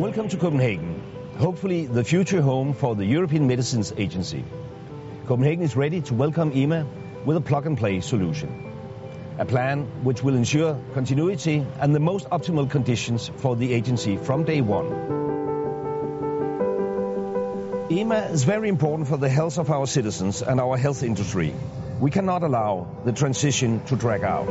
Welcome to Copenhagen, hopefully the future home for the European Medicines Agency. Copenhagen is ready to welcome EMA with a plug-and-play solution. A plan which will ensure continuity and the most optimal conditions for the agency from day one. EMA is very important for the health of our citizens and our health industry. We cannot allow the transition to drag out.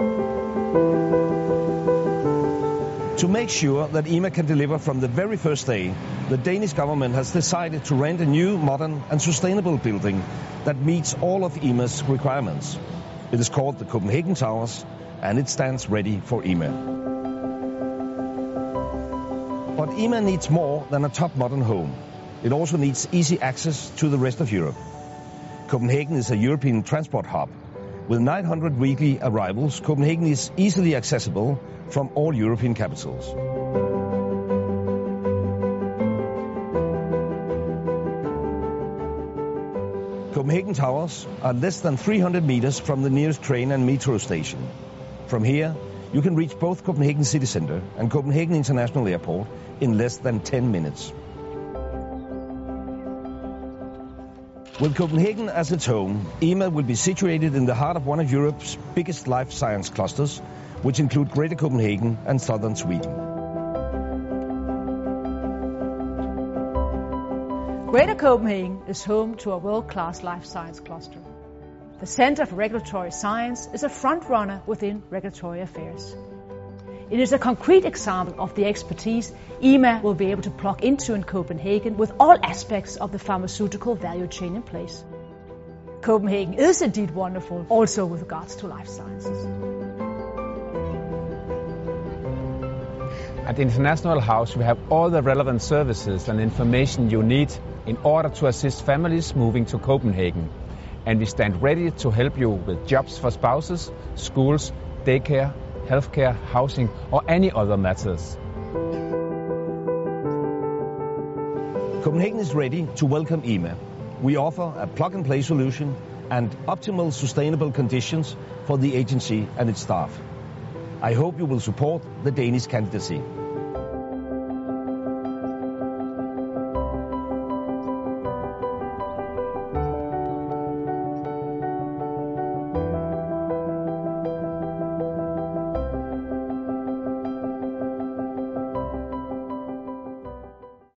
To make sure that EMA can deliver from the very first day, the Danish government has decided to rent a new, modern and sustainable building that meets all of EMA's requirements. It is called the Copenhagen Towers and it stands ready for EMA. But EMA needs more than a top modern home. It also needs easy access to the rest of Europe. Copenhagen is a European transport hub. With 900 weekly arrivals, Copenhagen is easily accessible from all European capitals. Copenhagen Towers are less than 300 meters from the nearest train and metro station. From here, you can reach both Copenhagen City Centre and Copenhagen International Airport in less than 10 minutes. With Copenhagen as its home, EMA will be situated in the heart of one of Europe's biggest life science clusters, which include Greater Copenhagen and southern Sweden. Greater Copenhagen is home to a world-class life science cluster. The Center for Regulatory Science is a front-runner within regulatory affairs. It is a concrete example of the expertise EMA will be able to plug into in Copenhagen with all aspects of the pharmaceutical value chain in place. Copenhagen is indeed wonderful, also with regards to life sciences. At the International House, we have all the relevant services and information you need in order to assist families moving to Copenhagen. And we stand ready to help you with jobs for spouses, schools, daycare, healthcare, housing, or any other matters. Copenhagen is ready to welcome EMA. We offer a plug-and-play solution and optimal sustainable conditions for the agency and its staff. I hope you will support the Danish candidacy.